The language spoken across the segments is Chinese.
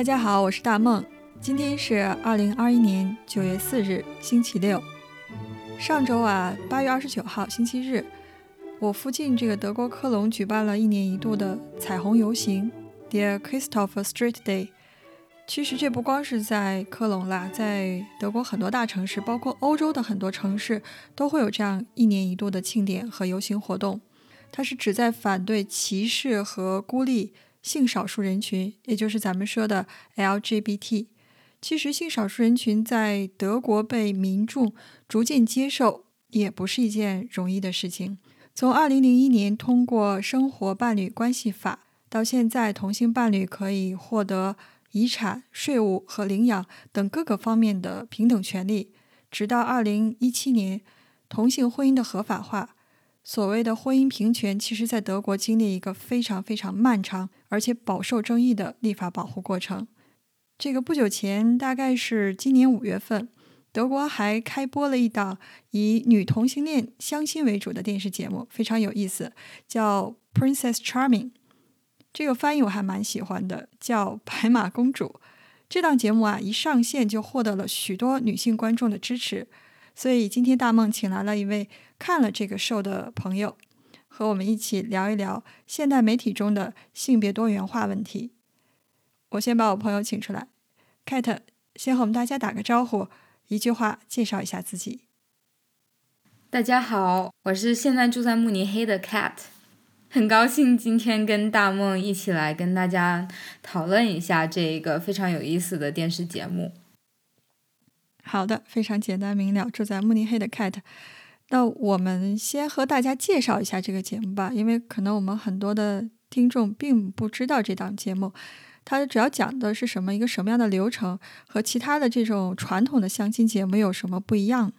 大家好，我是大梦。今天是2021年9月4日，星期六。上周8月29号星期日，我附近这个德国科隆举办了1年1度的彩虹游行 Der Christopher Street Day。 其实这不光是在科隆啦，在德国很多大城市，包括欧洲的很多城市都会有这样1年1度的庆典和游行活动。它是旨在反对歧视和孤立性少数人群，也就是咱们说的 LGBT。 其实性少数人群在德国被民众逐渐接受也不是一件容易的事情。从2001年通过生活伴侣关系法到现在，同性伴侣可以获得遗产、税务和领养等各个方面的平等权利，直到2017年同性婚姻的合法化。所谓的婚姻平权，其实在德国经历一个非常非常漫长而且饱受争议的立法保护过程。这个不久前，大概是今年5月份，德国还开播了一档以女同性恋相亲为主的电视节目，非常有意思，叫 Princess Charming。 这个翻译我还蛮喜欢的，叫白马公主。这档节目一上线就获得了许多女性观众的支持，所以今天大梦请来了一位看了这个show的朋友，和我们一起聊一聊现代媒体中的性别多元化问题。我先把我朋友请出来， Cat 先和我们大家打个招呼，一句话介绍一下自己。 大家好，我是现在住在慕尼黑的 Cat， 很高兴今天跟大梦一起来跟大家讨论一下这个非常有意思的电视节目。 好的，非常简单明了，住在慕尼黑的 Cat。 那我们先和大家介绍一下这个节目吧，因为可能我们很多的听众并不知道这档节目，它主要讲的是一个什么样的流程，和其他的这种传统的相亲节目有什么不一样。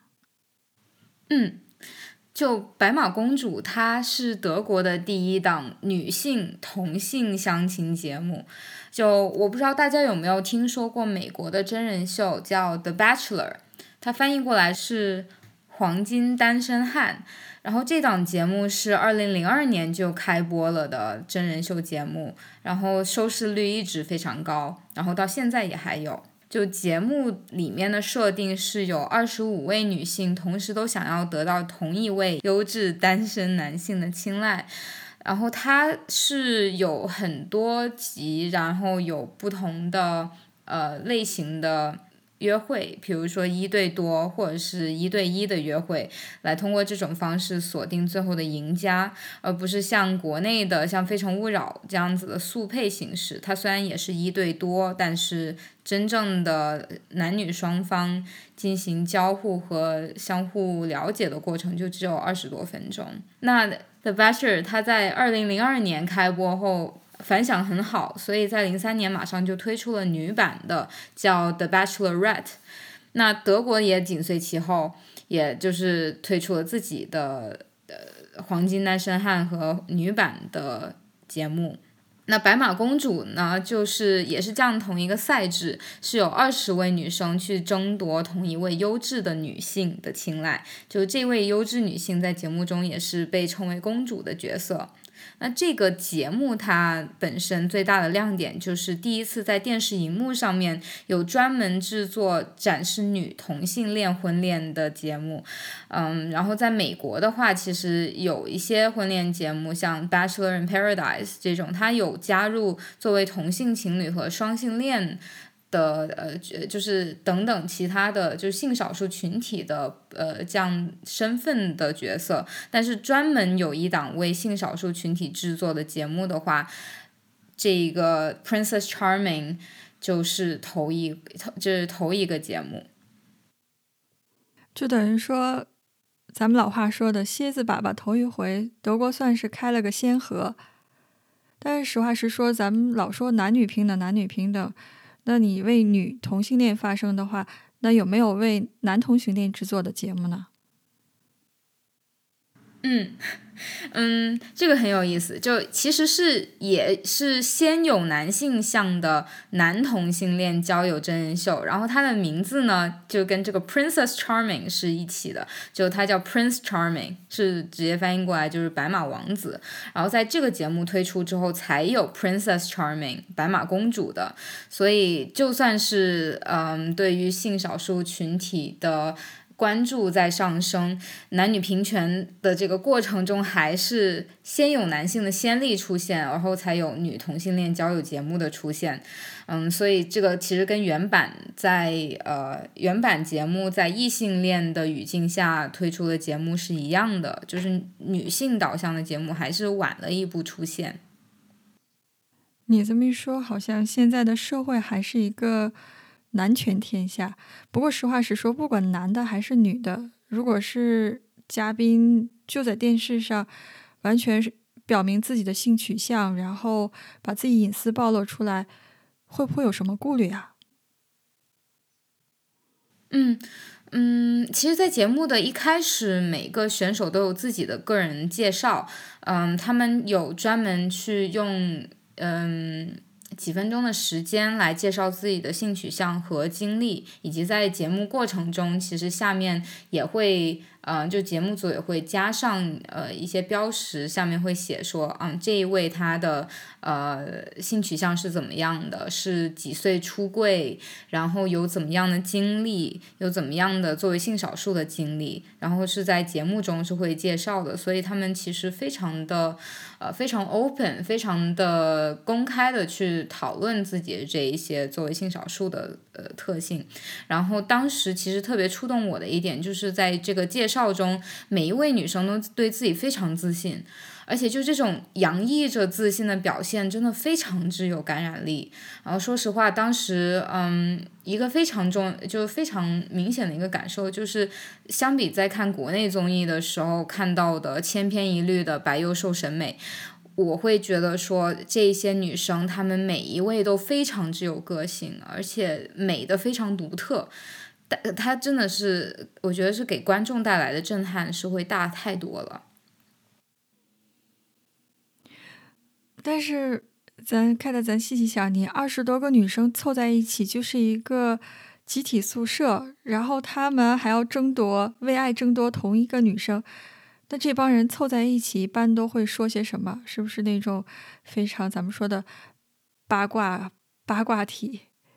就白马公主，它是德国的第一档女性同性相亲节目。就我不知道大家有没有听说过美国的真人秀叫 The Bachelor， 它翻译过来是黄金单身汉。然后这档节目是2002年就开播了的真人秀节目，然后收视率一直非常高，然后到现在也还有。就节目里面的设定是有25位女性同时都想要得到同一位优质单身男性的青睐，然后它是有很多集，然后有不同的类型的约会，比如说1对多或者是1对1的约会，来通过这种方式锁定最后的赢家，而不是像国内的像《非诚勿扰》这样子的速配形式。它虽然也是1对多，但是真正的男女双方进行交互和相互了解的过程就只有20多分钟。那 The Bachelor 它在2002年开播后反响很好，所以在2003年马上就推出了女版的，叫 The Bachelorette。 那德国也紧随其后，也就是推出了自己的黄金单身汉和女版的节目。那白马公主呢，就是也是这样同一个赛制，是有20位女生去争夺同一位优质的女性的青睐，就这位优质女性在节目中也是被称为公主的角色。那这个节目它本身最大的亮点就是第一次在电视荧幕上面有专门制作展示女同性恋婚恋的节目。然后在美国的话，其实有一些婚恋节目像 Bachelor in Paradise 这种，它有加入作为同性情侣和双性恋的就是等等其他的就是性少数群体的这样身份的角色。但是专门有一档为性少数群体制作的节目的话，这个 Princess Charming 就是头一个节目。 就等于说咱们老话说的蝎子粑粑头一回，德国算是开了个先河。但是实话实说，咱们老说男女平等男女平等，那你为女同性恋发声的话，那有没有为男同性恋制作的节目呢？ 这个很有意思，就其实也是先有男性向的男同性恋交友真人秀，然后它的名字呢就跟这个 Princess Charming 是一起的，就它叫 Prince Charming， 是直接翻译过来就是白马王子。然后在这个节目推出之后，才有 Princess Charming 白马公主的，所以就算是对于性少数群体的关注在上升，男女平权的这个过程中，还是先有男性的先例出现，然后才有女同性恋交友节目的出现。所以这个其实跟原版节目在异性恋的语境下推出的节目是一样的，就是女性导向的节目还是晚了一步出现。 你这么一说，好像现在的社会还是一个男权天下。不过实话实说，不管男的还是女的，如果是嘉宾就在电视上完全是表明自己的性取向，然后把自己隐私暴露出来，会不会有什么顾虑啊？ 其实在节目的一开始，每个选手都有自己的个人介绍，他们有专门去用几分钟的时间来介绍自己的性取向和经历，以及在节目过程中，其实下面也会就节目组也会加上一些标识，下面会写说这一位他的性取向是怎么样的，是几岁出柜，然后有怎么样的经历，有怎么样的作为性少数的经历，然后是在节目中是会介绍的，所以他们其实非常 open， 非常的公开的去讨论自己的这一些作为性少数的特性。然后当时其实特别触动我的一点，就是在这个介绍中，每一位女生都对自己非常自信，而且就这种洋溢着自信的表现真的非常之有感染力。然后说实话，当时一个非常明显的一个感受就是，相比在看国内综艺的时候看到的千篇一律的白幼瘦审美，我会觉得说这些女生她们每一位都非常之有个性，而且美的非常独特。她真的是，我觉得是给观众带来的震撼是会大太多了。 但是咱细细想，你20多个女生凑在一起就是一个集体宿舍，然后她们还要为爱争夺同一个女生，那这帮人凑在一起一般都会说些什么？是不是那种非常咱们说的八卦体？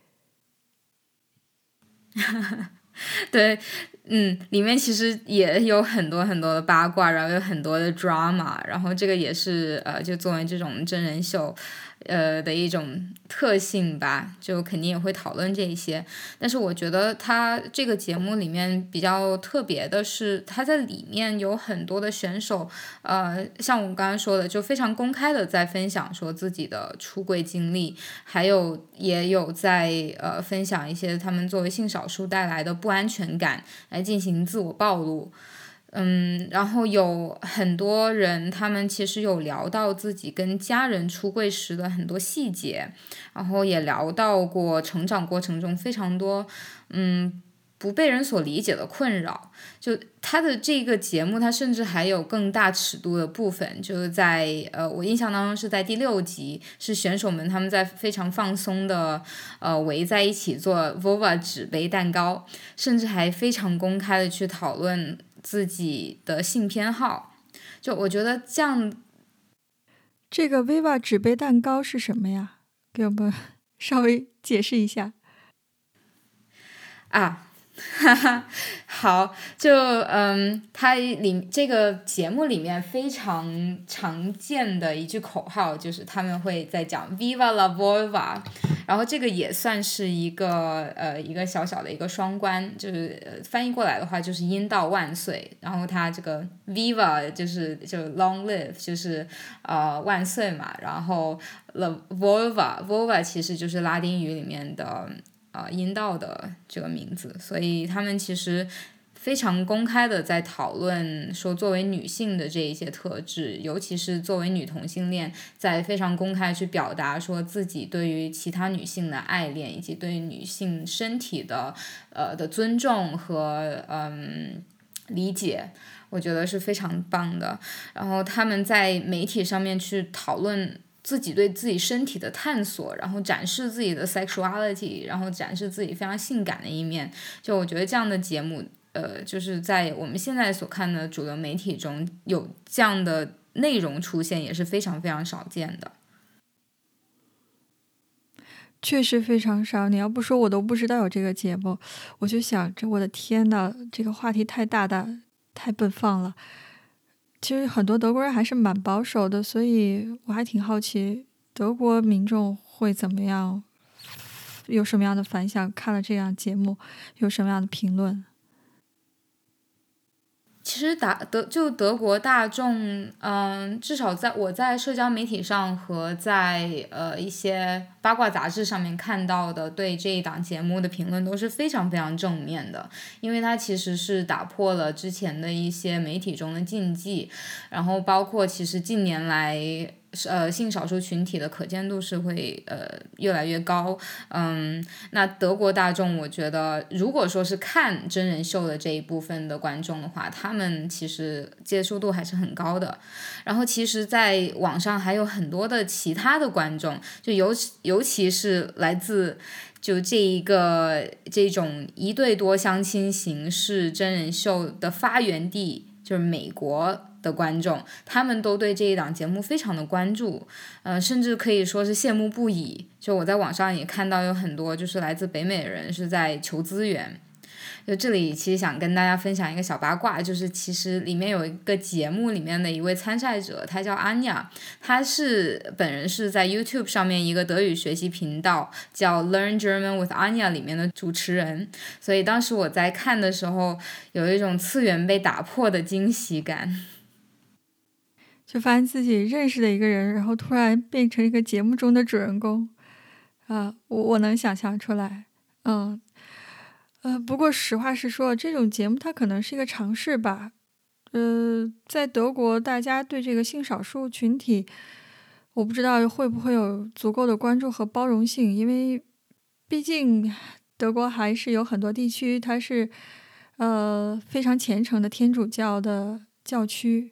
对，里面其实也有很多很多的八卦，然后有很多的 drama， 然后这个也是就作为这种真人秀的一种特性吧，就肯定也会讨论这一些。但是我觉得它这个节目里面比较特别的是，它在里面有很多的选手，像我刚刚说的，就非常公开的在分享说自己的出柜经历，也有在分享一些他们作为性少数带来的不安全感，来进行自我暴露。然后有很多人，他们其实有聊到自己跟家人出柜时的很多细节，然后也聊到过成长过程中非常多，不被人所理解的困扰。就他的这个节目，他甚至还有更大尺度的部分，就是在我印象当中是在第6集，是选手们他们在非常放松的围在一起做 Vova 纸杯蛋糕，甚至还非常公开的去讨论自己的性偏好。就我觉得这样， 这个 Viva 纸杯蛋糕是什么呀？给我们稍微解释一下啊。哈哈，好，就它这个节目里面非常常见的一句口号就是他们会在讲 Viva la Volva， 然后这个也算是一个小小的一个双关，就是翻译过来的话就是阴道万岁，然后它这个 Viva 就 long live 就是万岁嘛，然后 la Volva 其实就是拉丁语里面的阴道的这个名字，所以他们其实非常公开的在讨论说作为女性的这一些特质，尤其是作为女同性恋，在非常公开去表达说自己对于其他女性的爱恋，以及对于女性身体的尊重和理解，我觉得是非常棒的。然后他们在媒体上面去讨论自己对自己身体的探索，然后展示自己的 sexuality， 然后展示自己非常性感的一面。就我觉得这样的节目，就是在我们现在所看的主流媒体中有这样的内容出现，也是非常非常少见的。 确实非常少，你要不说我都不知道有这个节目。我就想着，我的天呐，这个话题太大，太奔放了。其实很多德国人还是蛮保守的，所以我还挺好奇德国民众会怎么样，有什么样的反响，看了这样节目有什么样的评论。 其实德国大众，至少我在社交媒体上和在一些八卦杂志上面看到的对这一档节目的评论都是非常非常正面的，因为它其实是打破了之前的一些媒体中的禁忌，然后包括其实近年来性少数群体的可见度是会越来越高。那德国大众我觉得如果说是看真人秀的这一部分的观众的话，他们其实接受度还是很高的。然后其实在网上还有很多的其他的观众，就尤其是来自就这种一对多相亲形式真人秀的发源地，就是美国的观众，他们都对这一档节目非常的关注，甚至可以说是羡慕不已。就我在网上也看到有很多就是来自北美的人是在求资源。就这里其实想跟大家分享一个小八卦，就是其实里面有一个节目里面的一位参赛者，他叫 Anya， 他本人是在 YouTube 上面一个德语学习频道叫 Learn German with Anya 里面的主持人，所以当时我在看的时候有一种次元被打破的惊喜感， 就发现自己认识的一个人，然后突然变成一个节目中的主人公我能想象出来。不过实话实说，这种节目它可能是一个尝试吧。在德国，大家对这个性少数群体，我不知道会不会有足够的关注和包容性，因为毕竟德国还是有很多地区它是非常虔诚的天主教的教区。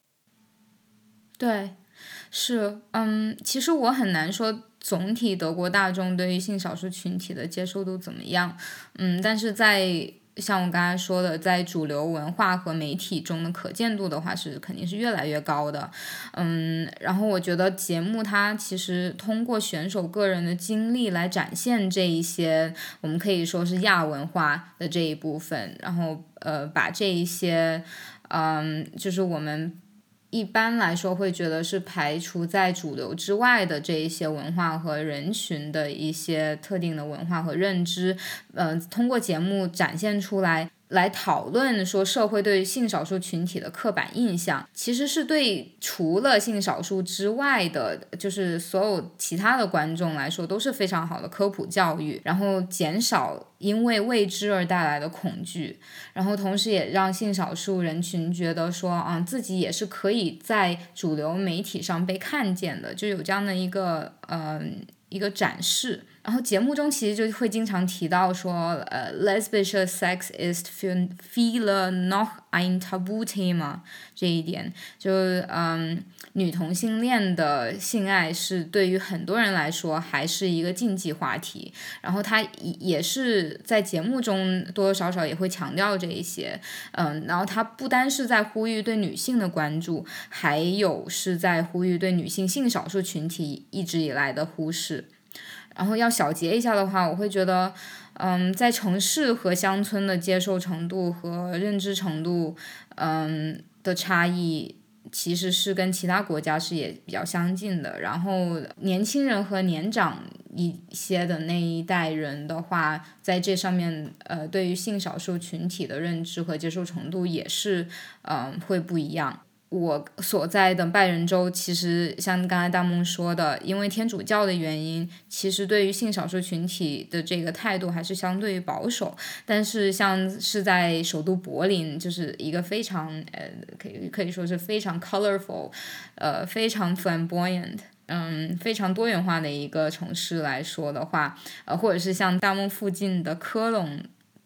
对，是，其实我很难说总体德国大众对于性少数群体的接受度怎么样，但是像我刚才说的，在主流文化和媒体中的可见度的话，肯定是越来越高的。然后我觉得节目它其实通过选手个人的经历来展现这一些我们可以说是亚文化的这一部分，然后把这一些就是我们一般来说会觉得是排除在主流之外的这一些文化和人群的一些特定的文化和认知，通过节目展现出来讨论说社会对性少数群体的刻板印象，其实是对除了性少数之外的，就是所有其他的观众来说都是非常好的科普教育，然后减少因为未知而带来的恐惧，然后同时也让性少数人群觉得说自己也是可以在主流媒体上被看见的，就有这样的一个展示。然后节目中其实就会经常提到说lesbische Sex ist für viele noch ein Tabuthema 这一点，就女同性恋的性爱是对于很多人来说还是一个禁忌话题，然后他也是在节目中多多少少也会强调这一些，然后他不单是在呼吁对女性的关注，还有是在呼吁对女性性少数群体一直以来的忽视。然后要小结一下的话，我会觉得，在城市和乡村的接受程度和认知程度，的差异，其实是跟其他国家是也比较相近的。然后年轻人和年长一些的那一代人的话，在这上面，对于性少数群体的认知和接受程度也是，会不一样。我所在的拜仁州，其实像刚才大梦说的，因为天主教的原因，其实对于性少数群体的这个态度还是相对于保守。但是像是在首都柏林，就是一个非常可以说是非常 colorful，非常 flamboyant。非常多元化的一个城市来说的话，或者是像大梦附近的科隆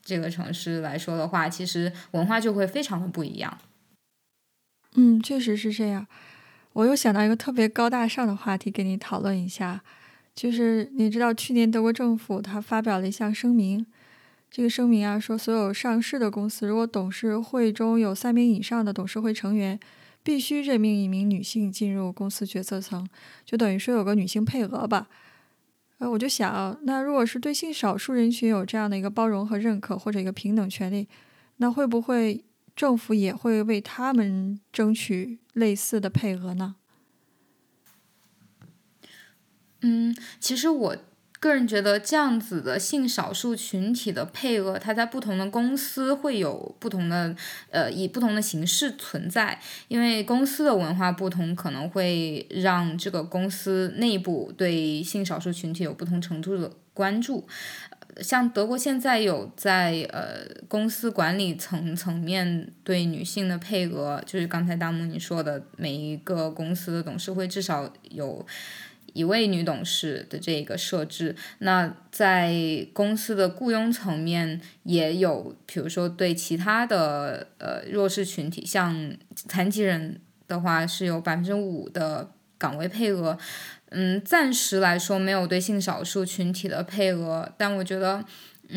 这个城市来说的话，其实文化就会非常的不一样。 确实是这样。我又想到一个特别高大上的话题，跟你讨论一下，就是你知道去年德国政府它发表了一项声明，这个声明啊说，所有上市的公司如果董事会中有3名以上的董事会成员，必须任命一名女性进入公司决策层，就等于说有个女性配额吧。我就想，那如果是对性少数人群有这样的一个包容和认可，或者一个平等权利，那会不会政府也会为他们争取类似的配额呢？ 其实我个人觉得这样子的性少数群体的配额，它在不同的公司会有不同的以不同的形式存在，因为公司的文化不同，可能会让这个公司内部对性少数群体有不同程度的关注。像德国现在有在公司管理层面对女性的配额，就是刚才大木你说的，每一个公司的董事会至少有1位女董事的这个设置。那在公司的雇佣层面也有，比如说对其他的弱势群体，像残疾人的话是有5%的岗位配额。暂时来说没有对性少数群体的配额，但我觉得，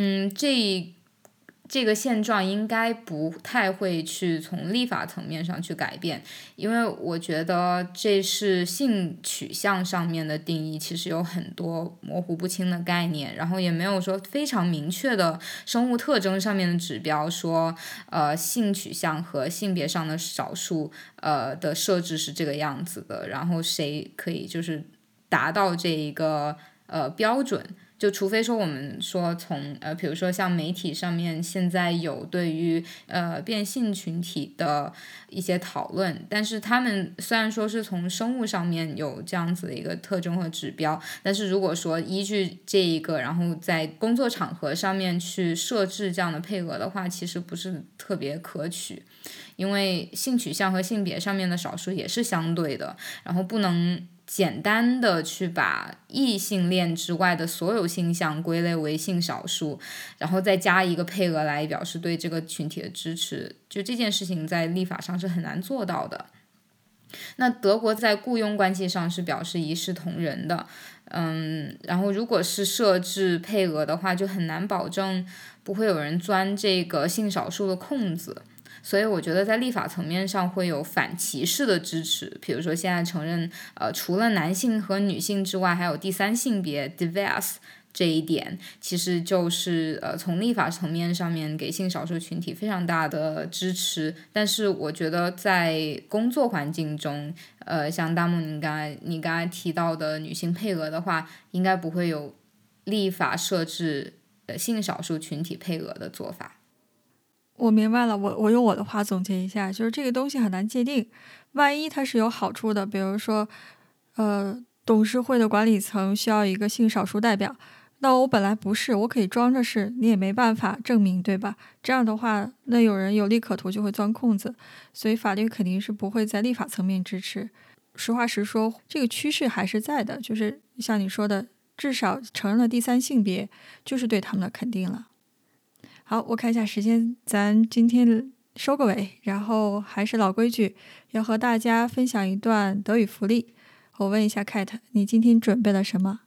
这个现状应该不太会去从立法层面上去改变，因为我觉得这是性取向上面的定义，其实有很多模糊不清的概念，然后也没有说非常明确的生物特征上面的指标说，性取向和性别上的少数的设置是这个样子的，然后谁可以就是达到这一个标准。就除非说我们说从比如说像媒体上面现在有对于变性群体的一些讨论，但是他们虽然说是从生物上面有这样子的一个特征和指标，但是如果说依据这一个，然后在工作场合上面去设置这样的配额的话，其实不是特别可取，因为性取向和性别上面的少数也是相对的，然后不能简单的去把异性恋之外的所有性向归类为性少数，然后再加一个配额来表示对这个群体的支持，就这件事情在立法上是很难做到的。那德国在雇佣关系上是表示一视同仁的，然后如果是设置配额的话，就很难保证不会有人钻这个性少数的空子。所以我觉得在立法层面上会有反歧视的支持，比如说现在承认除了男性和女性之外还有第三性别 diverse 这一点，其实就是从立法层面上面给性少数群体非常大的支持。但是我觉得在工作环境中像大木你刚才提到的女性配额的话，应该不会有立法设置性少数群体配额的做法。 我明白了，我用我的话总结一下，就是这个东西很难界定，万一它是有好处的，比如说董事会的管理层需要一个性少数代表，那我本来不是，我可以装着是，你也没办法证明，对吧？这样的话，那有人有利可图就会钻空子，所以法律肯定是不会在立法层面支持。实话实说，这个趋势还是在的，就是像你说的，至少承认了第三性别，就是对他们的肯定了。好，我看一下时间，咱今天收个尾，然后还是老规矩，要和大家分享一段德语福利。我问一下 Kate， 你今天准备了什么？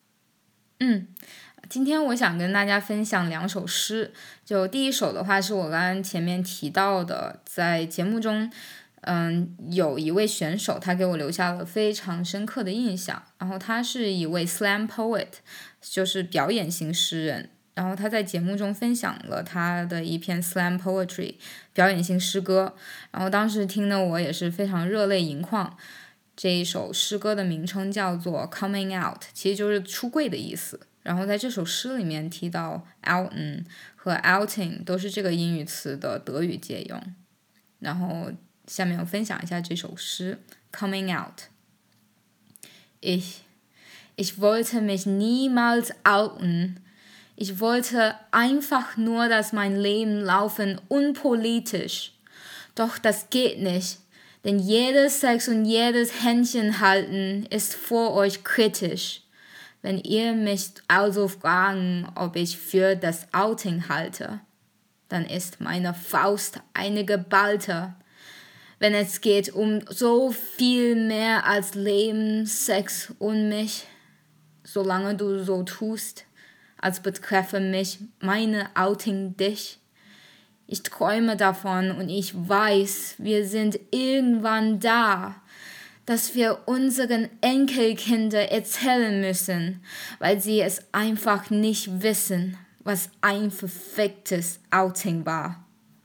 今天我想跟大家分享2首诗，就第一首的话是我刚刚前面提到的，在节目中有一位选手他给我留下了非常深刻的印象，然后他是一位 slam poet， 就是表演型诗人，然后他在节目中分享了他的一篇 slam poetry 表演性诗歌，然后当时听的我也是非常热泪盈眶。这一首诗歌的名称叫做 coming out， 其实就是出柜的意思，然后在这首诗里面提到 outen 和 outing 都是这个英语词的德语借用。然后下面我分享一下这首诗 coming out。 Ich wollte mich niemals outen. Ich wollte einfach nur, dass mein Leben laufen unpolitisch. Doch das geht nicht, denn jedes Sex und jedes Händchen halten ist vor euch kritisch. Wenn ihr mich also fragen, ob ich für das Outing halte, dann ist meine Faust eine geballte. Wenn es geht so viel mehr als Leben, Sex und mich, solange du so tust, als betreffe mich meine Outing dich. Ich träume davon und ich weiß, wir sind irgendwann da, dass wir unseren Enkelkinder erzählen müssen, weil sie es einfach nicht wissen, was ein verficktes Outing war.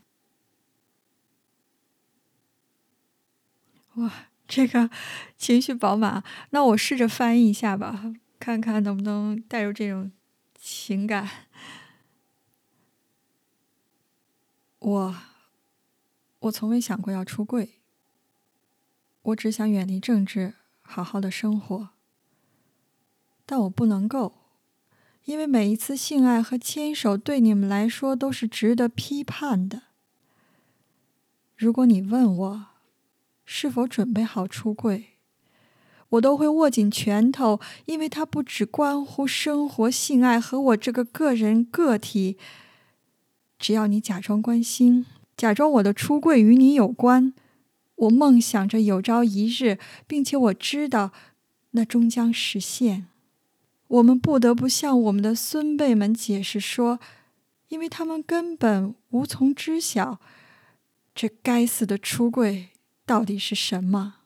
哇，这个情绪饱满。那我试着翻译一下吧，看看能不能带入这种情感。我从未想过要出柜，我只想远离政治，好好的生活。但我不能够，因为每一次性爱和牵手对你们来说都是值得批判的。如果你问我是否准备好出柜，我都会握紧拳头，因为它不只关乎生活、性爱和我这个个人个体。只要你假装关心，假装我的出柜与你有关，我梦想着有朝一日，并且我知道那终将实现。我们不得不向我们的孙辈们解释说，因为他们根本无从知晓这该死的出柜到底是什么。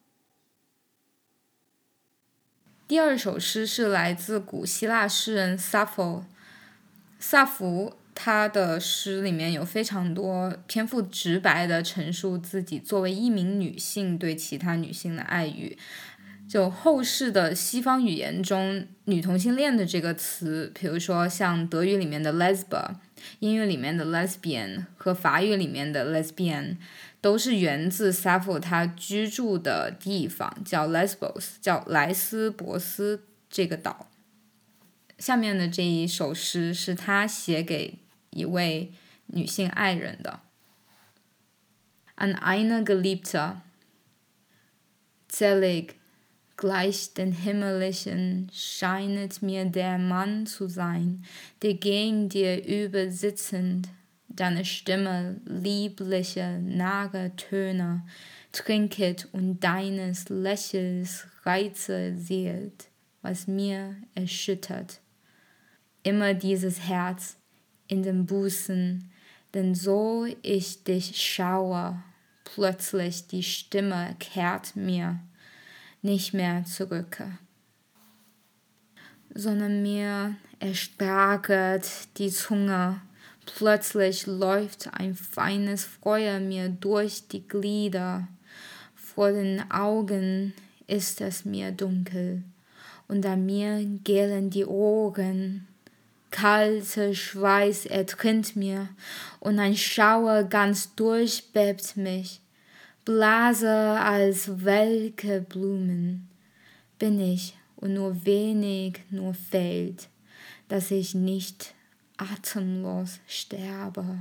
第二首诗是来自古希腊诗人萨福。萨福他的诗里面有非常多篇幅直白的陈述自己作为一名女性对其他女性的爱语。就后世的西方语言中，女同性恋的这个词，比如说像德语里面的 lesba， 英语里面的 lesbian 和法语里面的 lesbian， 都是源自 Sappho 他居住的地方，叫 Lesbos， 叫莱斯博斯这个岛。下面的这一首诗是他写给一位女性爱人的。An eine Geliebte, zelig, gleich den Himmlischen scheinet mir der Mann zu sein, der gegen dir übersitzend, deine Stimme liebliche, nahe Töne trinket und deines Lächels Reize sehet, was mir erschüttert. Immer dieses Herz in den Busen, denn so ich dich schaue, plötzlich die Stimme kehrt mir nicht mehr zurück, sondern mir erstarket die Zunge. Plötzlich läuft ein feines Feuer mir durch die Glieder. Vor den Augen ist es mir dunkel, und an mir gellen die Ohren. Kalter Schweiß ertrinnt mir, und ein Schauer ganz durchbebt mich. Blase als welke Blumen bin ich, und nur wenig nur fehlt, dass ich nicht atemlos sterbe.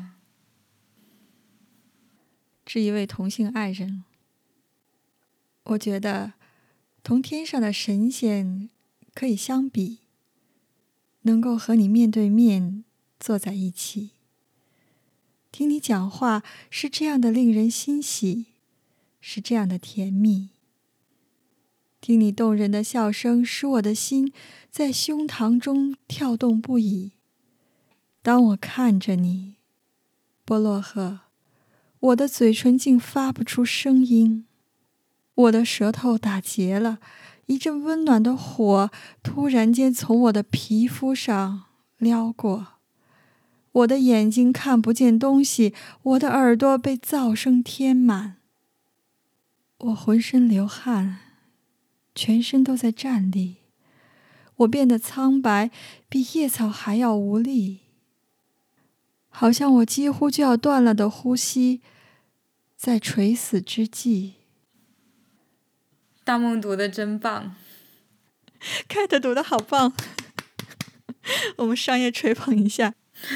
是一位同性爱人，我觉得同天上的神仙可以相比，能够和你面对面坐在一起，听你讲话是这样的令人欣喜，是这样的甜蜜。听你动人的笑声，使我的心在胸膛中跳动不已。当我看着你，波洛赫，我的嘴唇竟发不出声音，我的舌头打结了，一阵温暖的火突然间从我的皮肤上撩过，我的眼睛看不见东西，我的耳朵被噪声填满，我浑身流汗，全身都在战栗，我变得苍白，比叶草还要无力，好像我几乎就要断了的呼吸，在垂死之际。 大梦读得真棒， 凯特读得好棒，我们商业吹捧一下。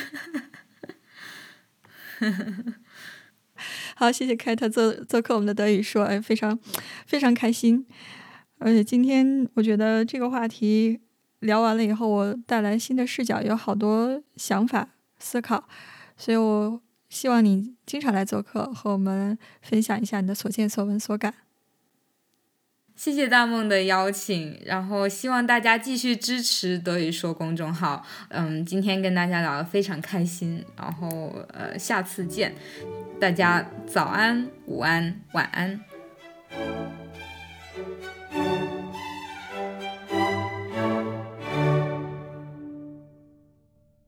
好，谢谢凯特做客我们的德语说，非常非常开心。而且今天我觉得这个话题聊完了以后，我带来新的视角，有好多想法思考，所以我希望你经常来做客，和我们分享一下你的所见所闻所感。 谢谢大梦的邀请，然后希望大家继续支持德语说公众号。今天跟大家聊得非常开心，然后下次见，大家早安、午安、晚安。